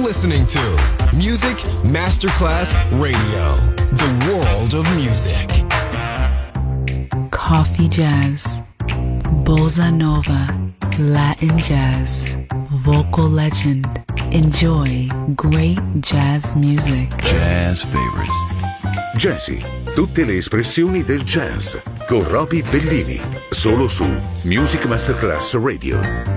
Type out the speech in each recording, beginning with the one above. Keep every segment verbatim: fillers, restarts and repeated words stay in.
listening to Music Masterclass Radio, the world of music. Coffee jazz, bossa nova, Latin jazz, vocal legend. Enjoy great jazz music. Jazz favorites. Jazzy, tutte le espressioni del jazz con Roby Bellini, solo su Music Masterclass Radio.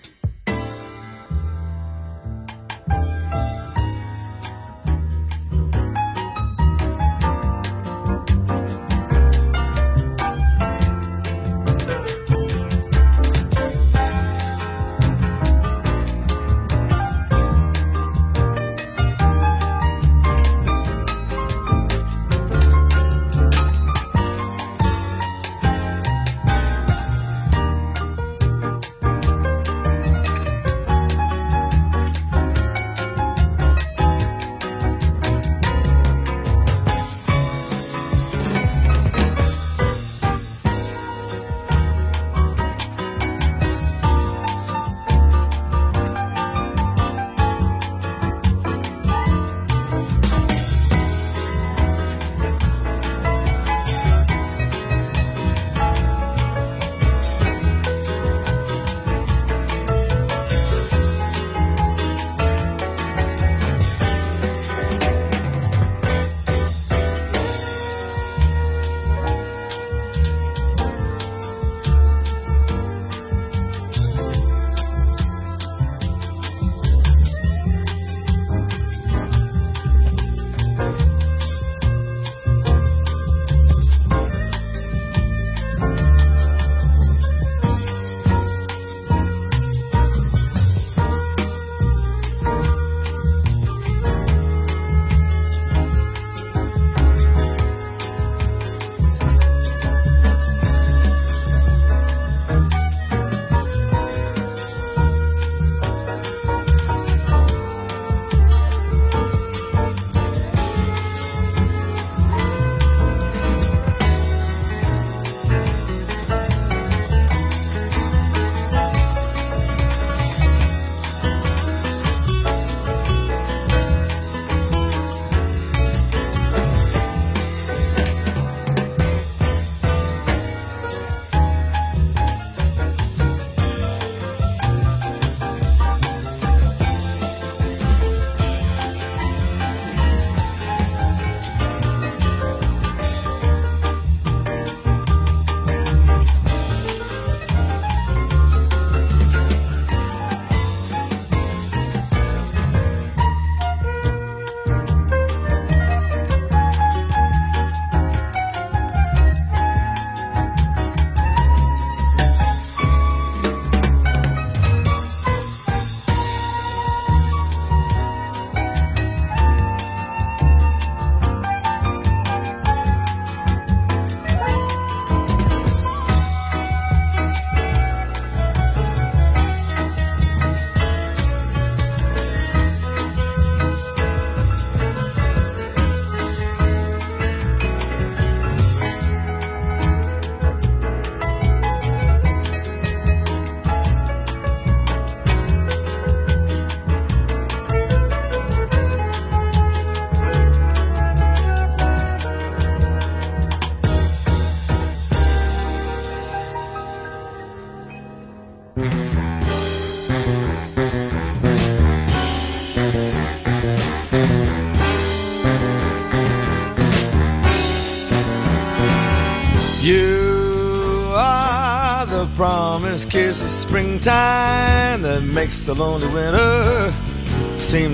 You are the promised kiss of springtime that makes the lonely winter seem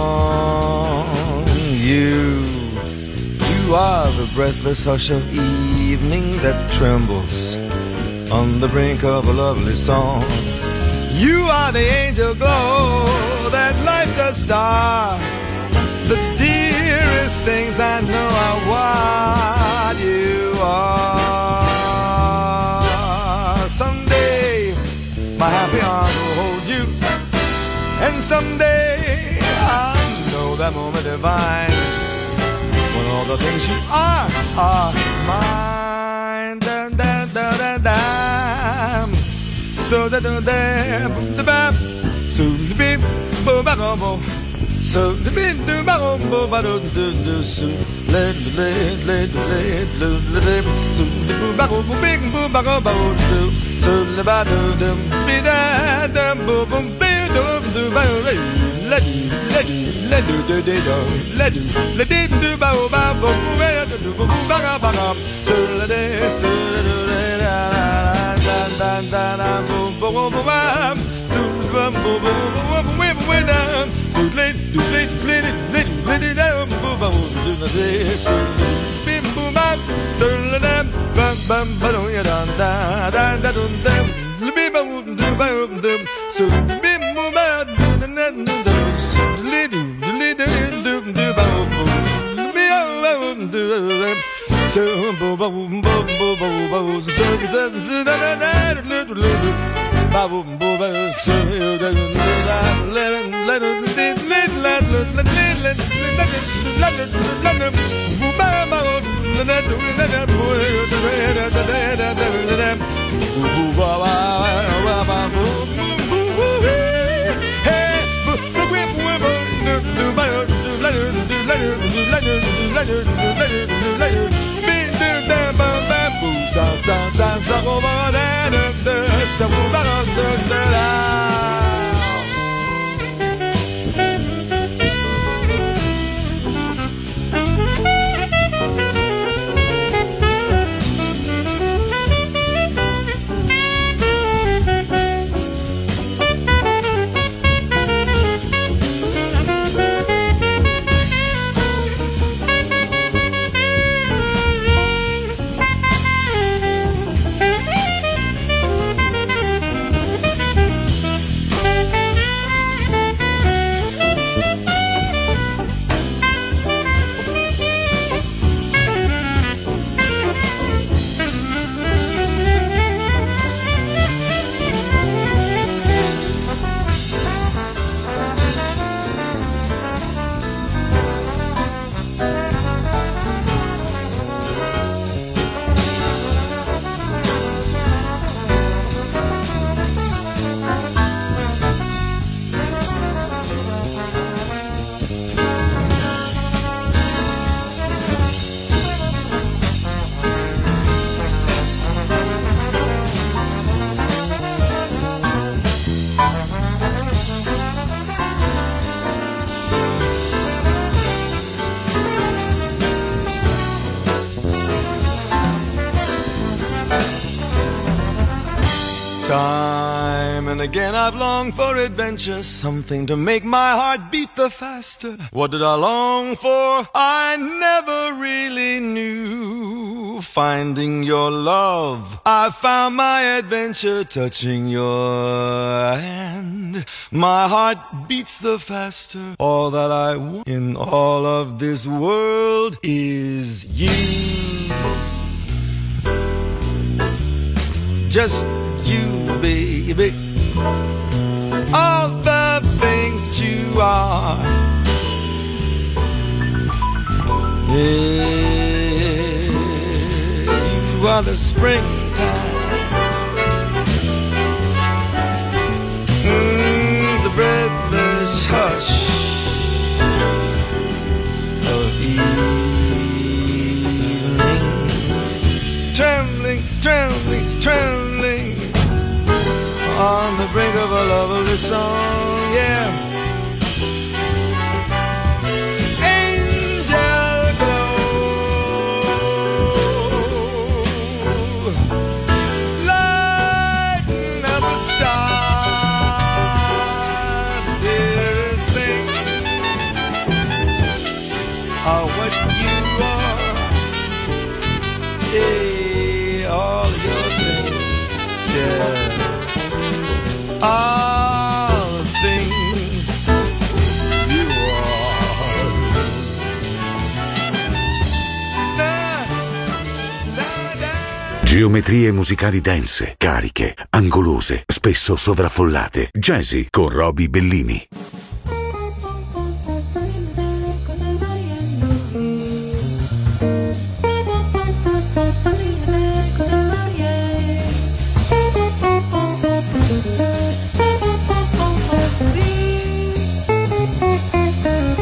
long. You, you are the breathless hush of evening that trembles on the brink of a lovely song. You are the angel glow that lights a star, the dearest things I know are what you are. Someday my happy arms will hold you, and someday I'll know that moment divine when all the things you are are mine. Da, da, da, da, da. So da da da da da so beep bo ba bo bo so the bit do ba bo ba do do do so let let let let let so the ba bo big bo ba go ba do so the ba do do be da da bo bo be do do ba let let let do do do let let do ba ba bo do bo ba ga ba ga so let so da da da da bo bo bo ba so bo bo bo bo we down do let do let let let let it down bo bo do na so bim boom bam so let them bam bam ba do ya da da da da do them bim bam do ba do so bim boom ba do na do so let do let do do ba do so bo bo bo bo bo bo so so so da da da do do ba bo bo so da da let let let let let let let let let let ba ba na do na da bo da da da da da ba ba ba ba bo hey bo bo bo bo do ba do la do la do la do la do la do be do da ba ba bo sa sa sa sa go ba da da sa bo ba da da da. Time and again I've longed for adventure, something to make my heart beat the faster. What did I long for? I never really knew. Finding your love, I found my adventure, touching your hand. My heart beats the faster. All that I want in all of this world is you. Just you, baby, all the things that you are. Yeah, you are the springtime, mm, the breathless hush of evening, trembling, trembling, trembling on the brink of a lovely song, yeah. Angel glow, lighten up a star. The dearest things are what you are. Yeah, all your things, yeah. All the things you are. Geometrie musicali dense, cariche, angolose, spesso sovraffollate. Jazzy con Roby Bellini. Thank you.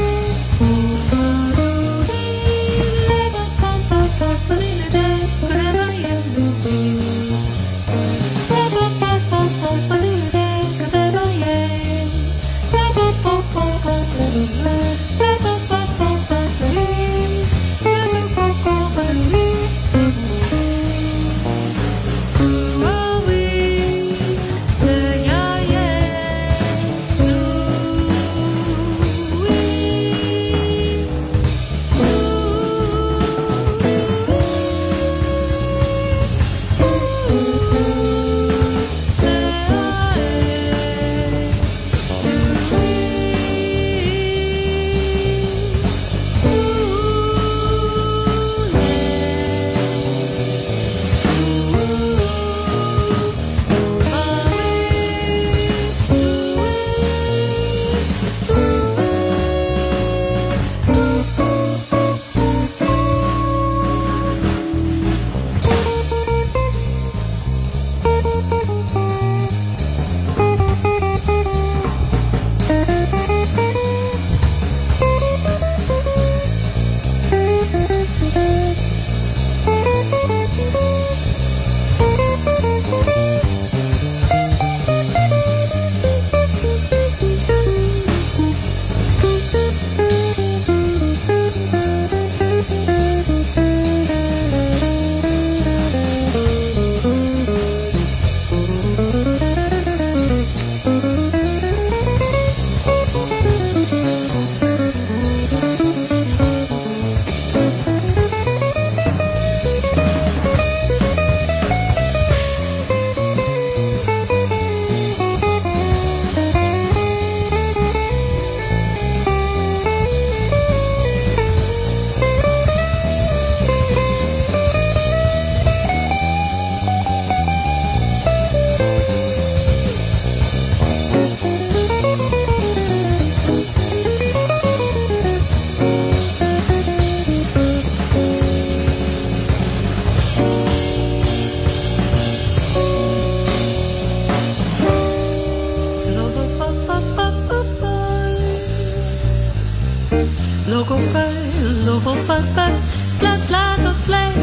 logo play, logo play, play, play, play, play,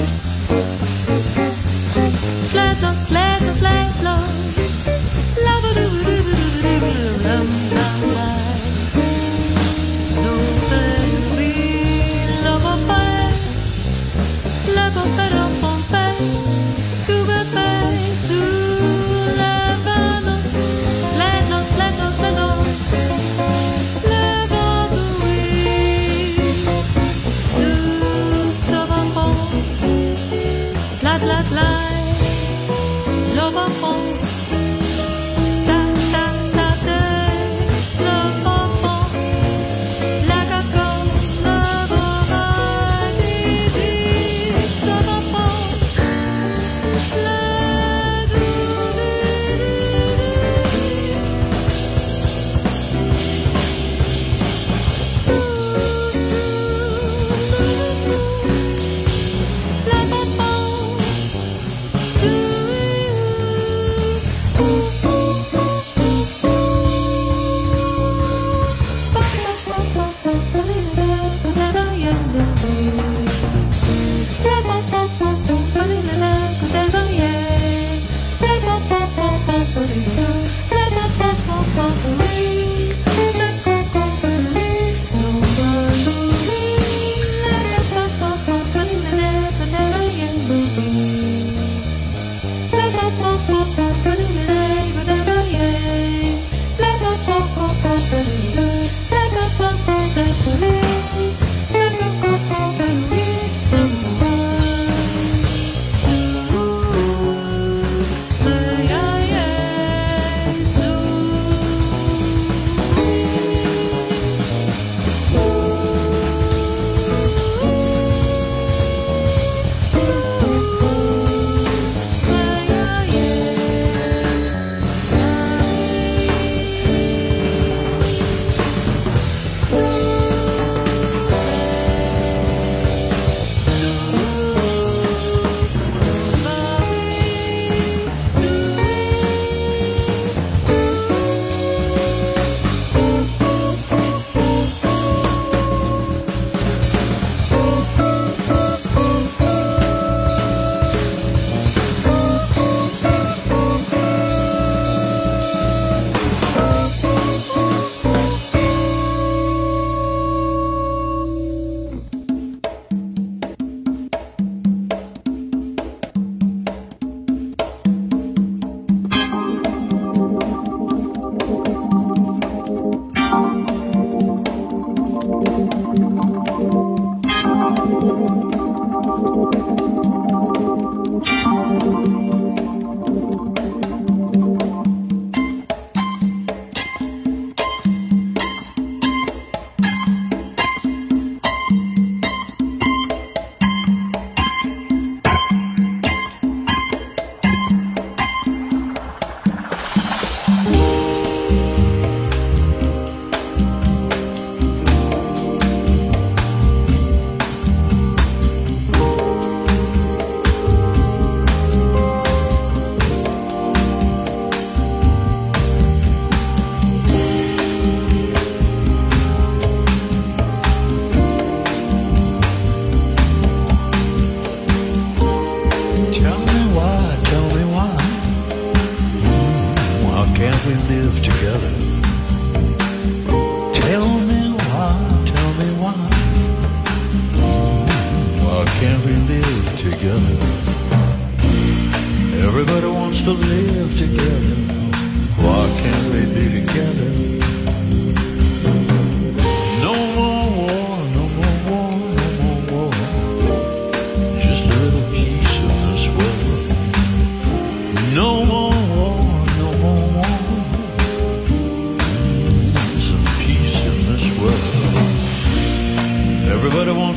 play, play, play, play, love, love, love, Sous ce vent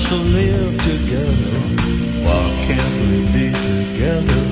to live together. Why can't we be together?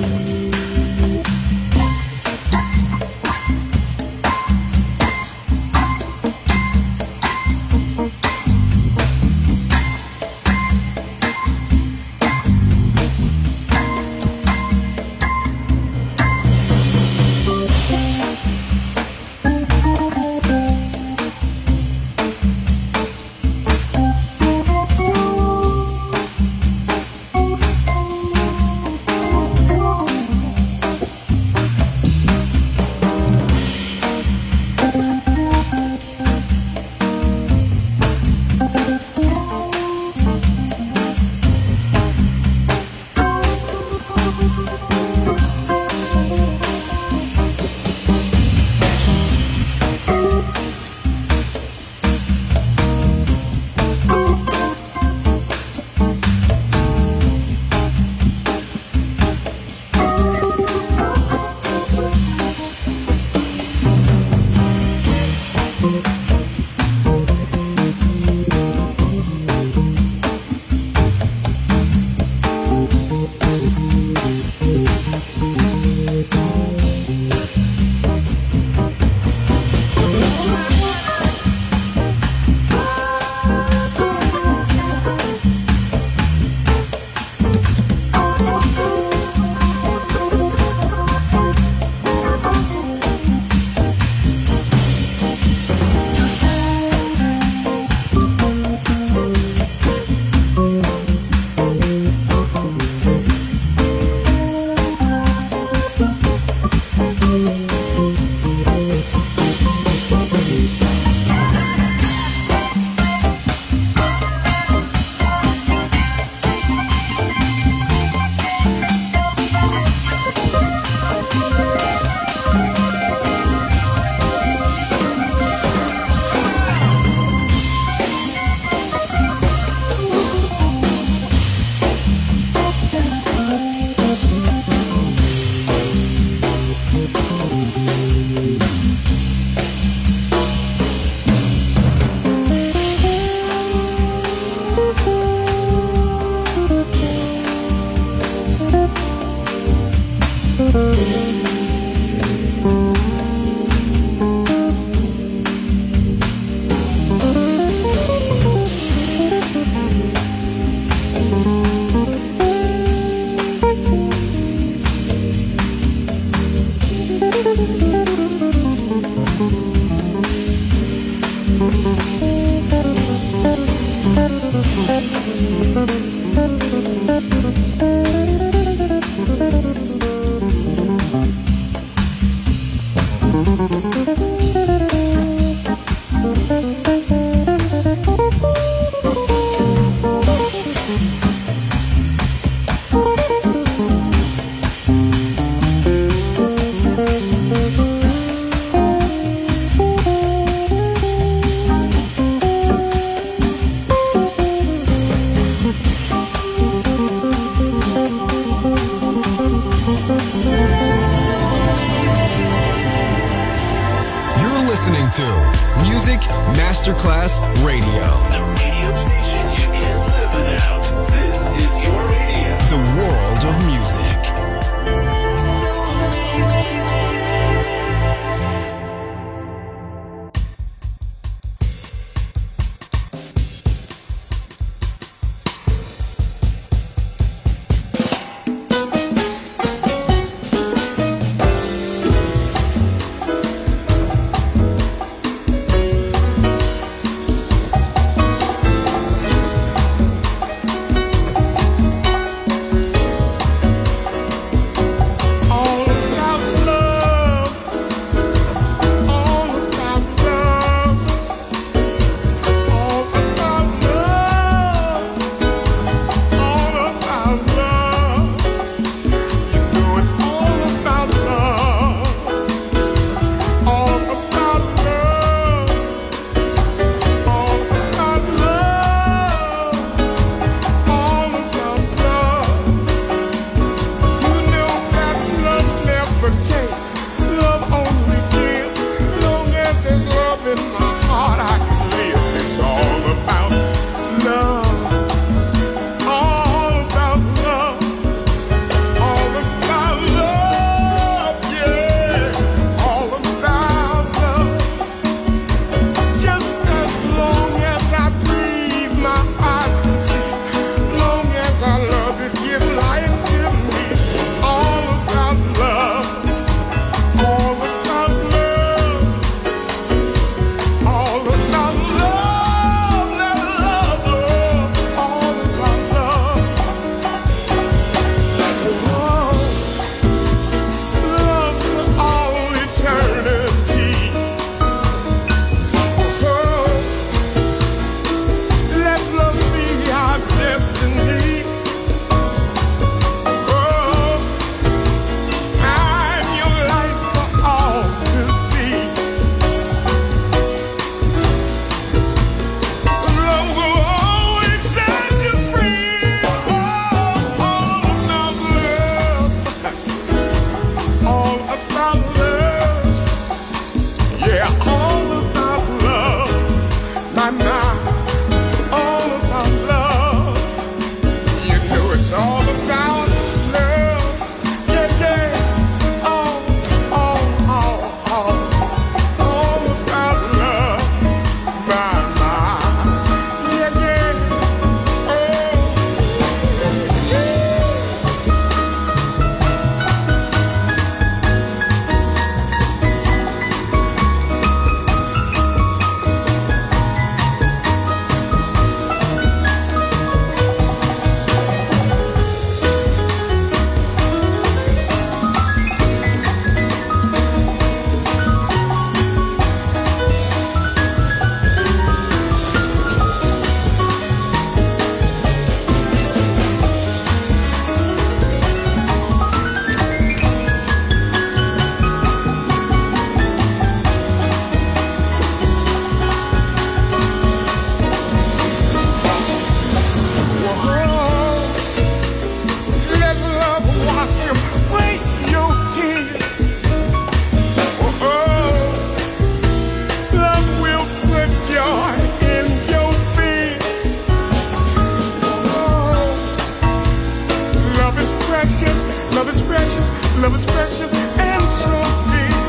listening to Music Masterclass Radio. The radio station you can't live without. This is your radio. The world of music. my, my, all about love. You know it's all about love. Yeah, yeah, all, all, all, all, all about love. My, my, yeah, yeah, oh, yeah. Love is precious, love is precious, and so deep.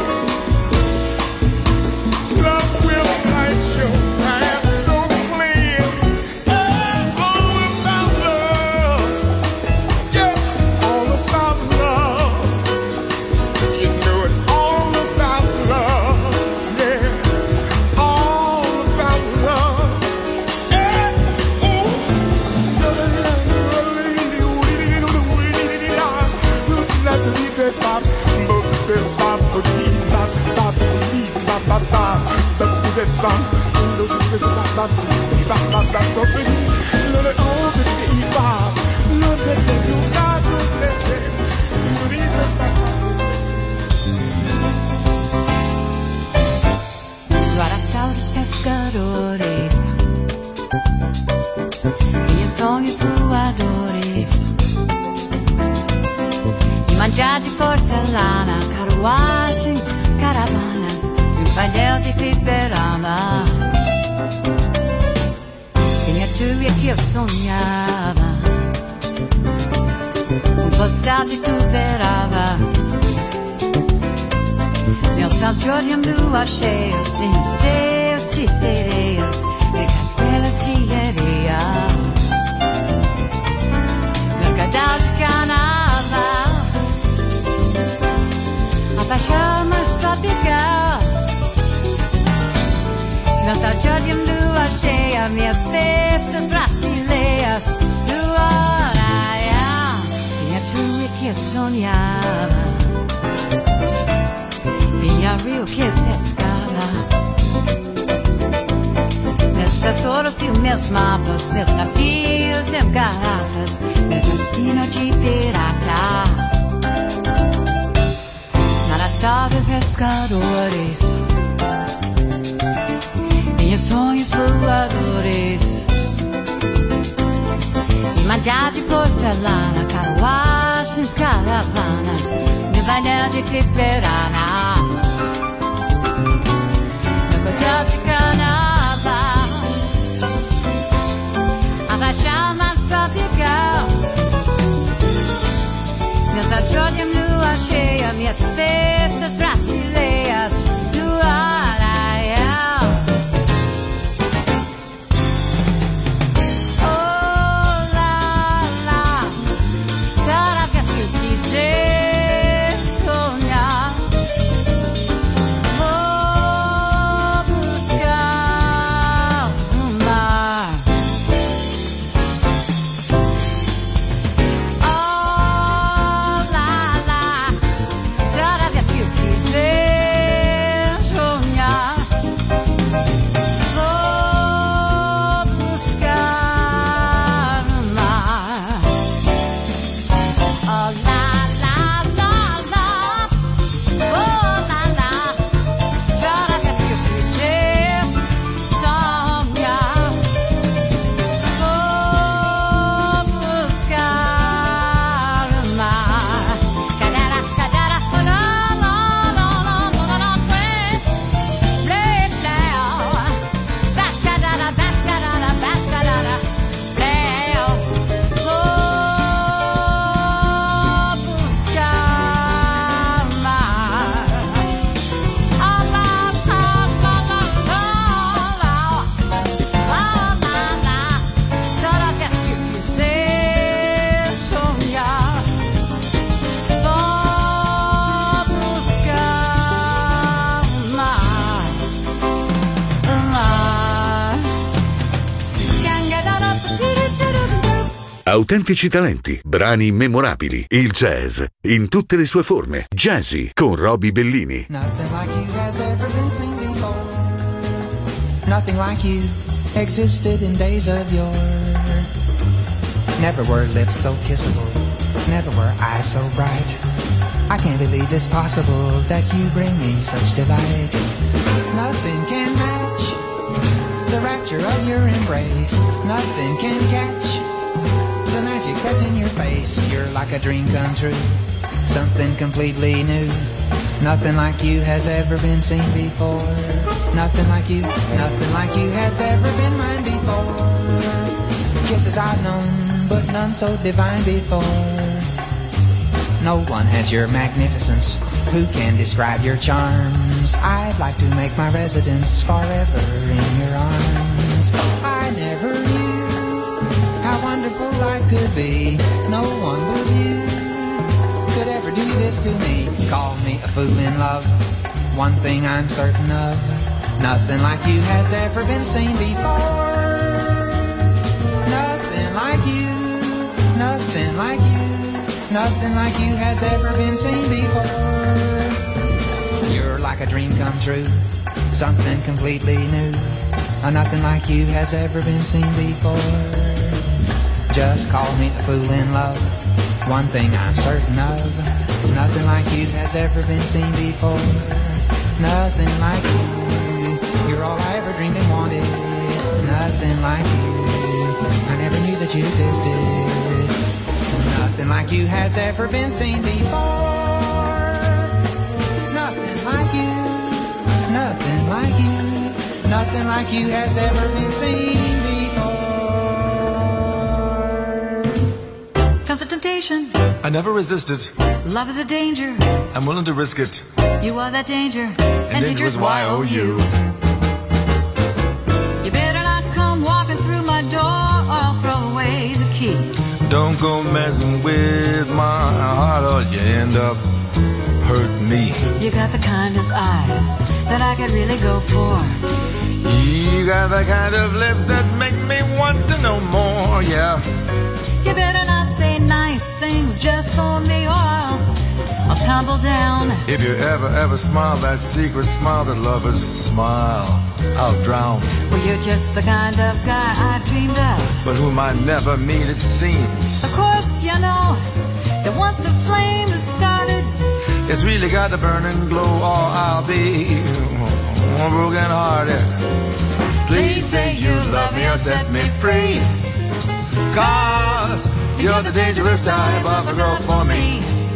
Love will light your path so clear. All about love, yeah, all about love. You know it's all about love, yeah, all about love. Yeah, ooh. Rastauros pescadores e os sonhos voadores, e manjar de porcelana, carruagens, caravanas, e um painel de fliperama. Quem é tu e que eu sonhava, um postal de tu verava. Nel Salggiorium luas cheias, vinhos seus de sereias e castelos de areia. Mercadal de carnaval, a paixão mais tropical. Nel Salggiorium luas cheias, minhas festas brasileiras. Luaraia, quem é tu e que eu sonhava, vinha rio que pescava. Meus tesouros e meus mapas, meus navios e garrafas, meu destino de pirata. Na estrada pescadores, vinha sonhos voadores, e manjar de porcelana, carruagens, caravanas, meu painel de fliperana. De carnaval, a paixão mais tropical. Meus Salggiorium lua cheia, minhas festas brasileiras. Luaraia, oh lá lá, toda vez que eu quiser sonhar, say autentici talenti, brani memorabili, il jazz in tutte le sue forme. Jazzy con Roby Bellini. Nothing like you has ever been seen before. Nothing like you existed in days of yore. Never were lips so kissable, never were eyes so bright. I can't believe it's possible that you bring me such delight. Nothing can match the rapture of your embrace. Nothing can catch the magic that's in your face. You're like a dream come true, something completely new. Nothing like you has ever been seen before. Nothing like you, nothing like you has ever been mine before. Kisses I've known, but none so divine before. No one has your magnificence, who can describe your charms? I'd like to make my residence forever in your arms. I never knew how wonderful life could be. No one but you could ever do this to me. Call me a fool in love, one thing I'm certain of. Nothing like you has ever been seen before. Nothing like you, nothing like you. Nothing like you has ever been seen before. You're like a dream come true, something completely new. Nothing like you has ever been seen before. Just call me a fool in love, one thing I'm certain of. Nothing like you has ever been seen before. Nothing like you, you're all I ever dreamed and wanted. Nothing like you, I never knew that you existed. Nothing like you has ever been seen before. Nothing like you, nothing like you, nothing like you has ever been seen before. Comes a temptation, I never resisted. love is a danger, I'm willing to risk it. you are that danger, and, And danger is Y O U. You better not come walking through my door, or I'll throw away the key. Don't go messing with my heart or you end up hurt me. You got the kind of eyes that I could really go for. You got the kind of lips that make me want to know more, yeah. You better not say nice things just for me, or I'll, I'll tumble down. If you ever, ever smile that secret smile that lovers smile, I'll drown. Well, you're just the kind of guy I dreamed of, but whom I never meet, it seems. Of course, you know that once the flame has started, it's really got to burn and glow, or I'll be broken hearted. Please say you love me or set me free, 'cause you're the dangerous type of a girl for me.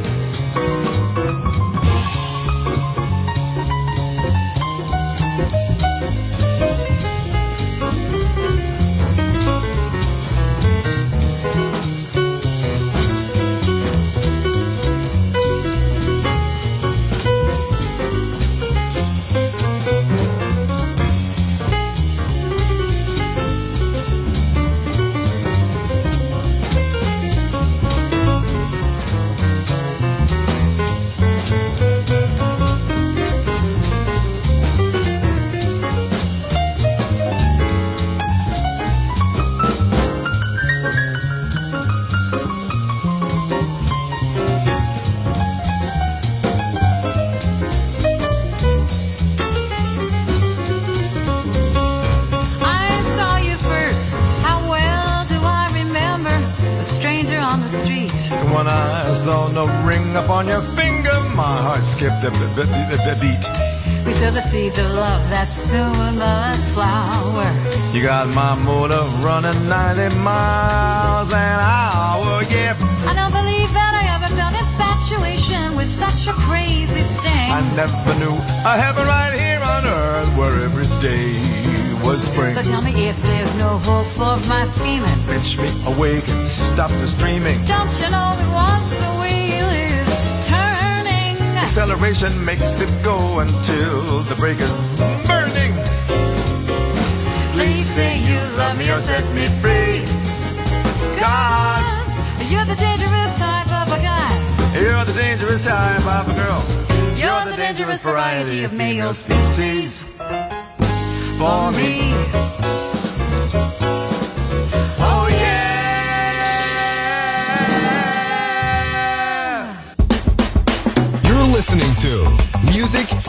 When I saw no ring upon your finger, my heart skipped a b- b- b- beat. we sow the seeds of love that soon must flower. You got my motor running ninety miles an hour, yeah. I don't believe that I ever felt infatuation with such a crazy sting. I never knew a heaven right here on earth where every day was spring. So tell me if there's no hope for my scheming. Pitch me awake and stop this dreaming. Don't you know that once the wheel is turning, acceleration makes it go until the brake is burning. Please say you love me or set me free, 'cause you're the dangerous type of a guy. You're the dangerous type of a girl. You're, you're the dangerous variety of male species. For me. Oh yeah.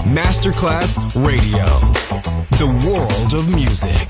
Masterclass Radio. The world of music.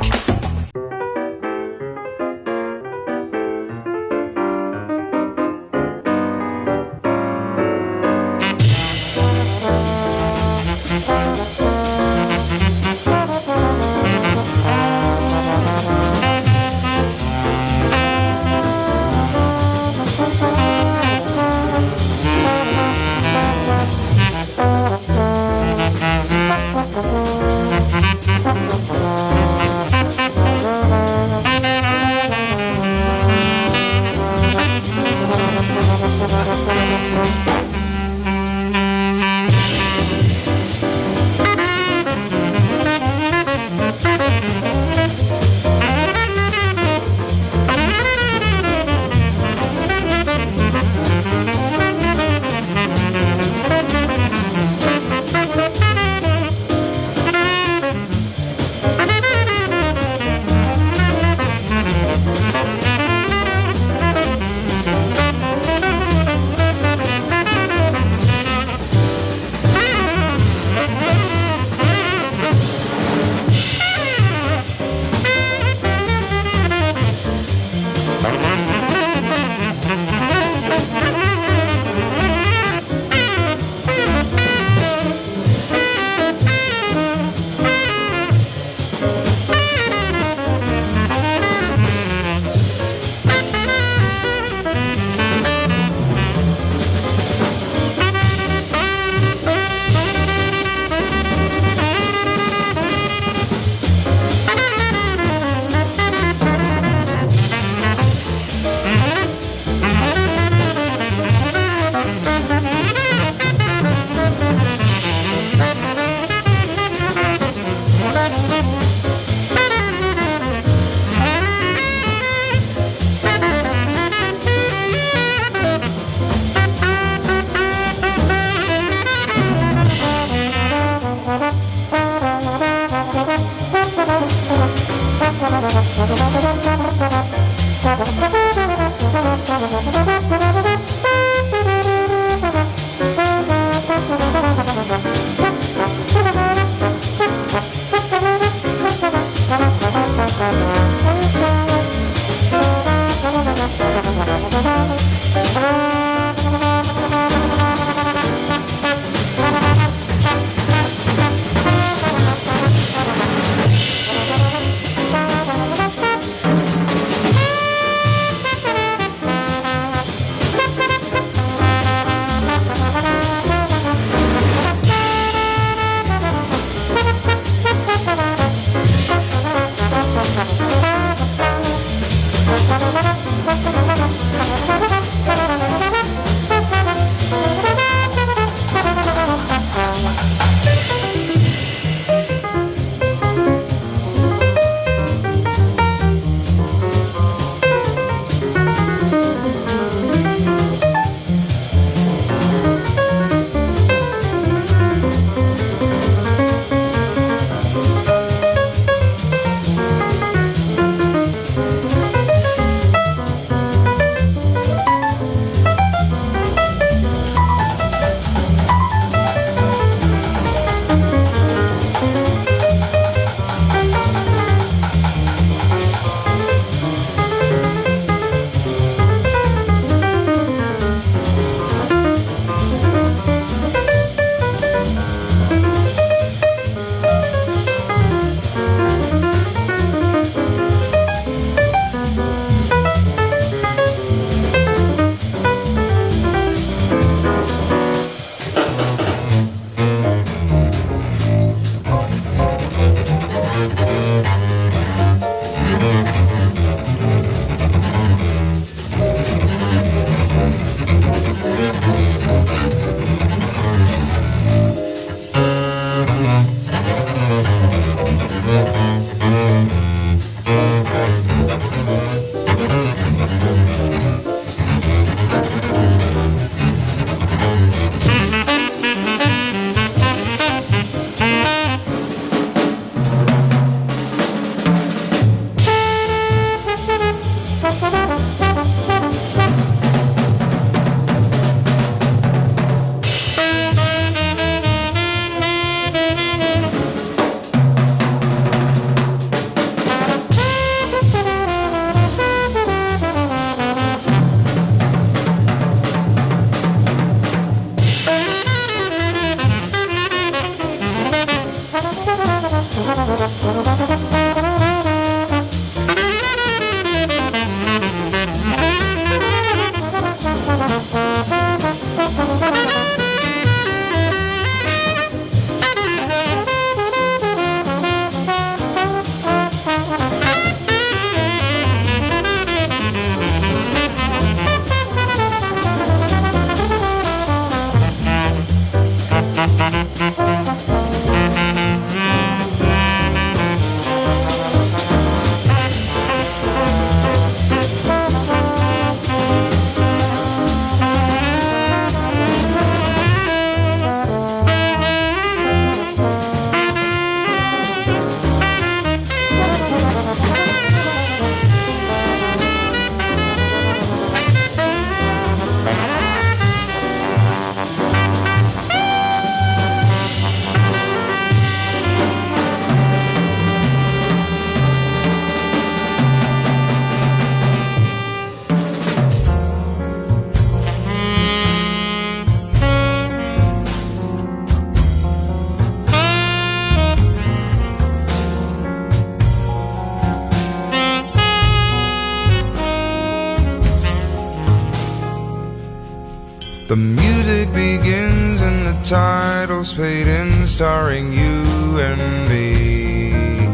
The music begins and the titles fade in, starring you and me.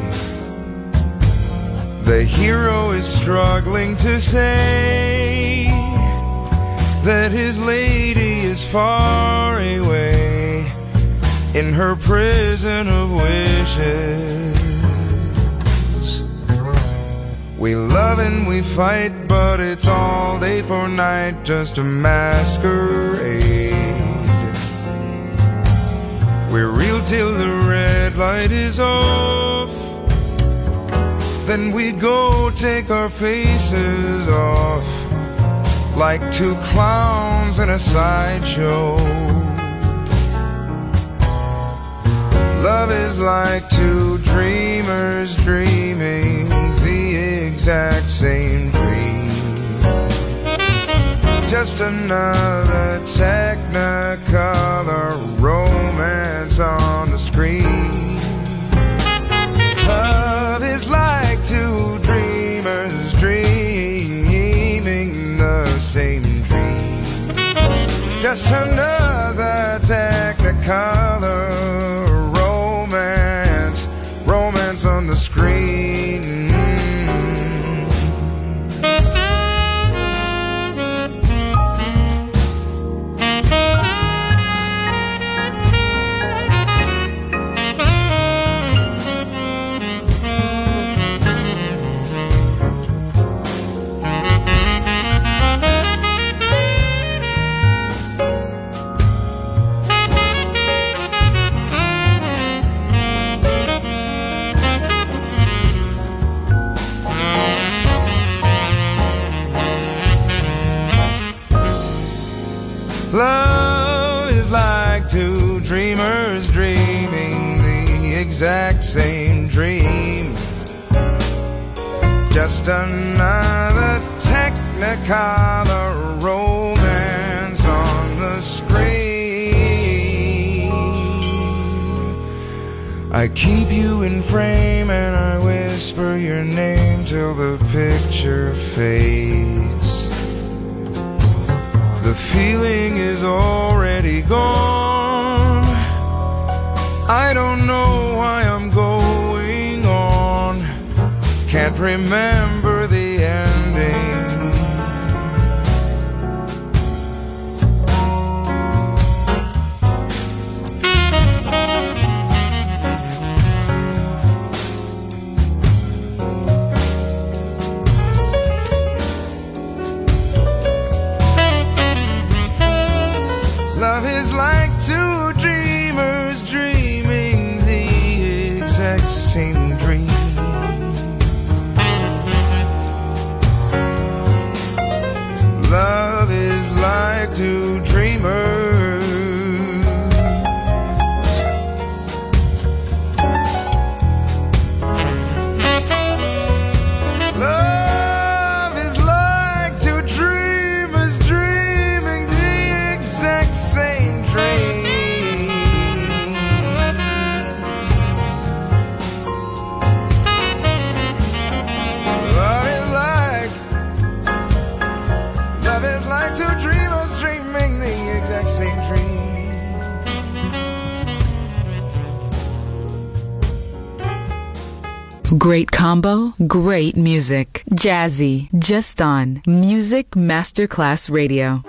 The hero is struggling to say that his lady is far away in her prison of wishes. We love and we fight, but it's all day for night, just a masquerade. We're real till the red light is off, then we go take our faces off like two clowns in a sideshow. Love is like two dreamers dreaming the exact same dream. Just another technicolor romance on the screen. Love is like two dreamers dreaming the same dream. Just another technicolor romance, romance on the screen. Love is like two dreamers dreaming the exact same dream. Just another technicolor romance on the screen. I keep you in frame and I whisper your name till the picture fades. The feeling is already gone. I don't know why I'm going on. Can't remember the ending. Love is like two dreamers dreaming the exact same dream. Love is like two dreamers. Love is like two dreamers dreaming the exact same dream. Love is like, love is like two dreamers dreaming the exact same dream. Great combo, great music. Jazzy, just on Music Masterclass Radio.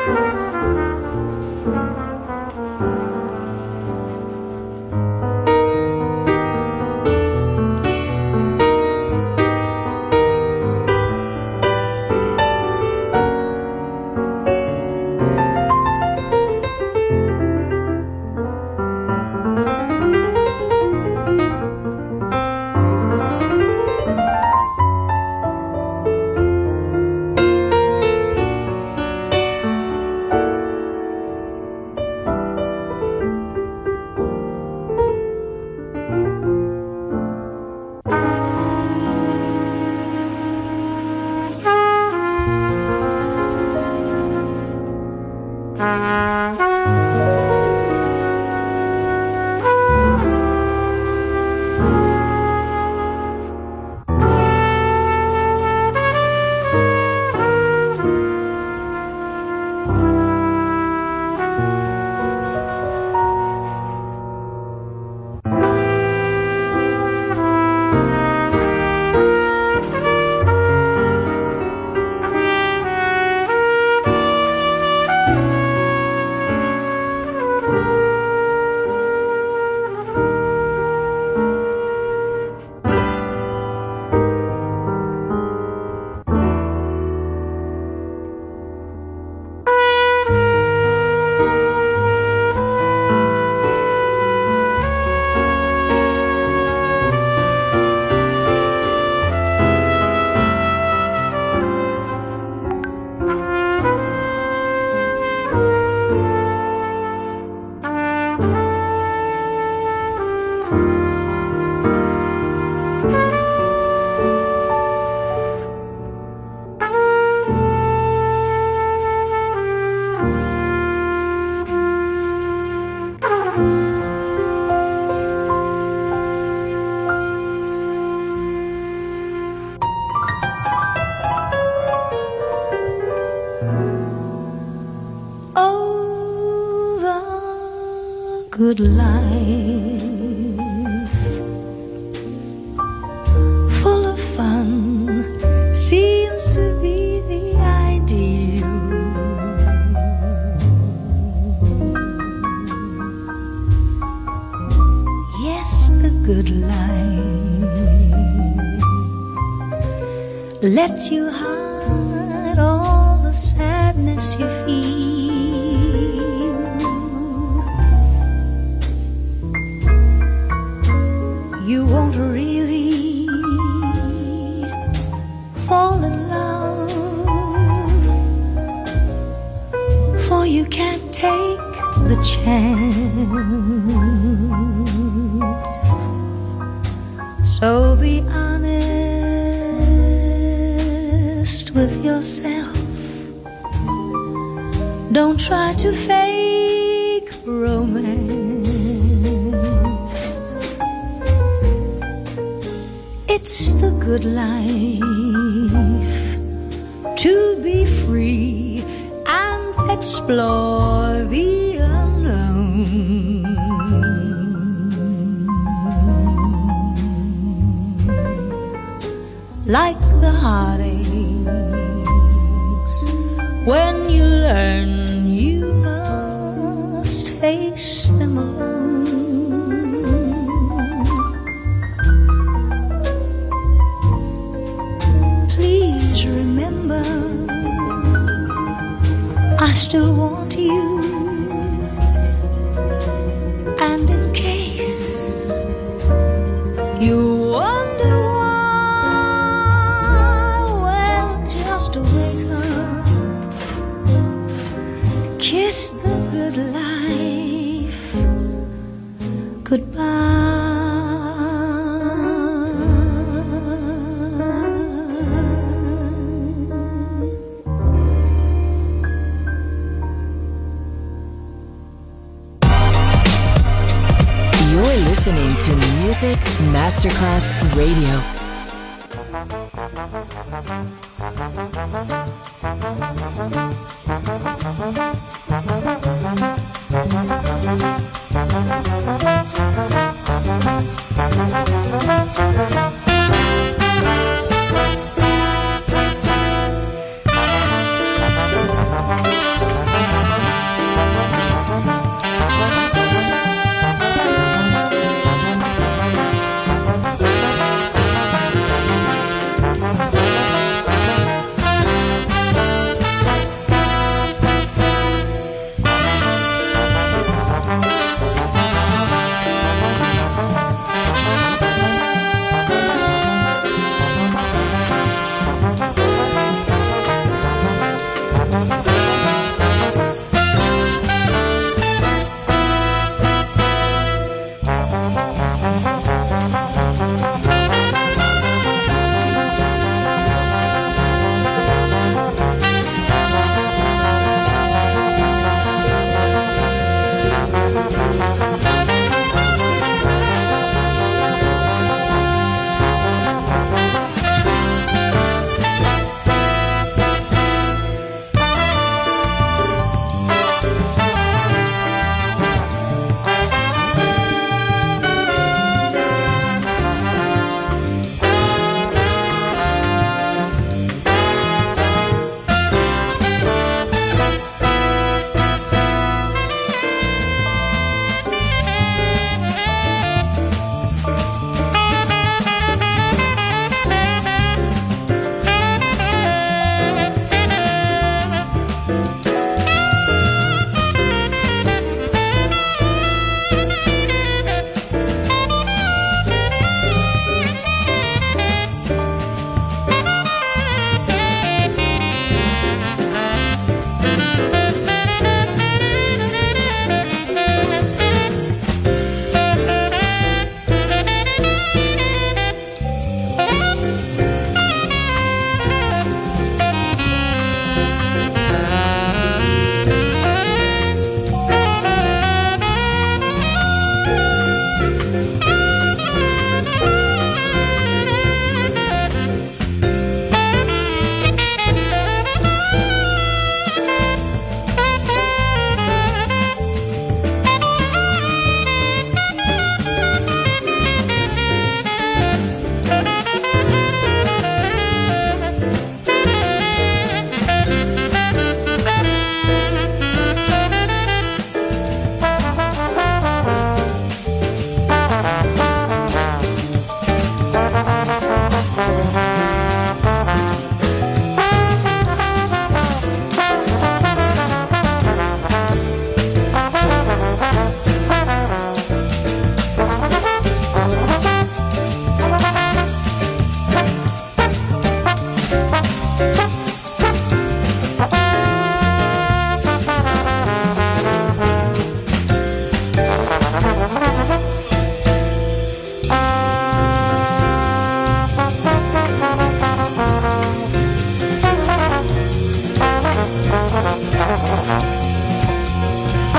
good life, full of fun, seems to be the ideal. Yes, the good life lets you hide all the sadness you feel. You won't really fall in love, for you can't take the chance. So be honest with yourself. Don't try to fake romance. It's the good life to be free and explore the unknown. Like the heartaches, when you learn you must face them alone. Please remember, I still want you, and in case you wonder why, well, just wake up, kiss the good life goodbye. You're listening to Music Masterclass Radio.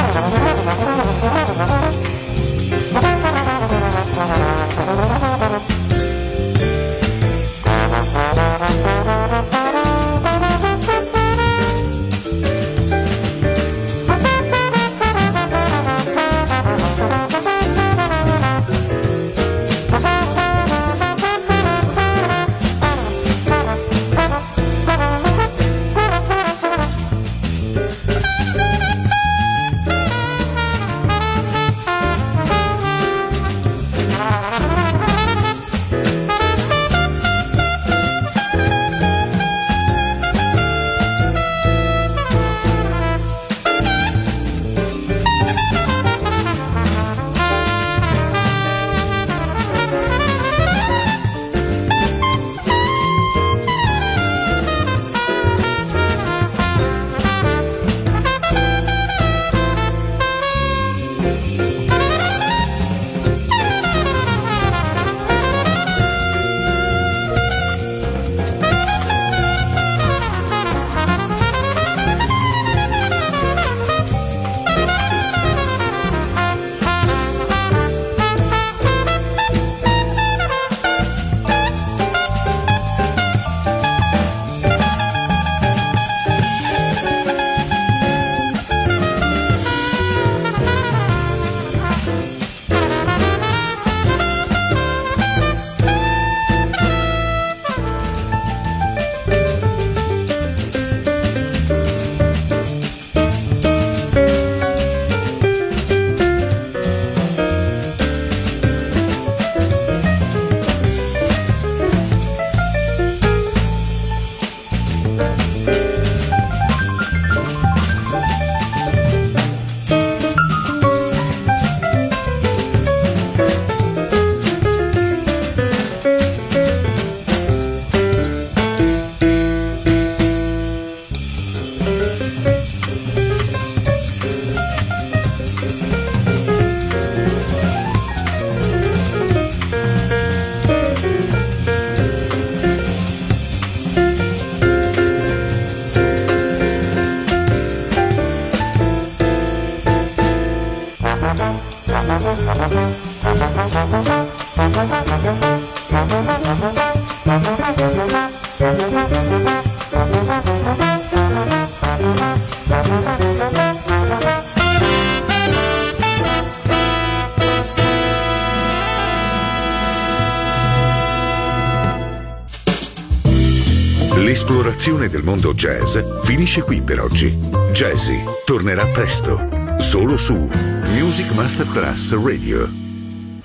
L'esplorazione del mondo jazz finisce qui per oggi. Jazzy tornerà presto, solo su Music Masterclass Radio.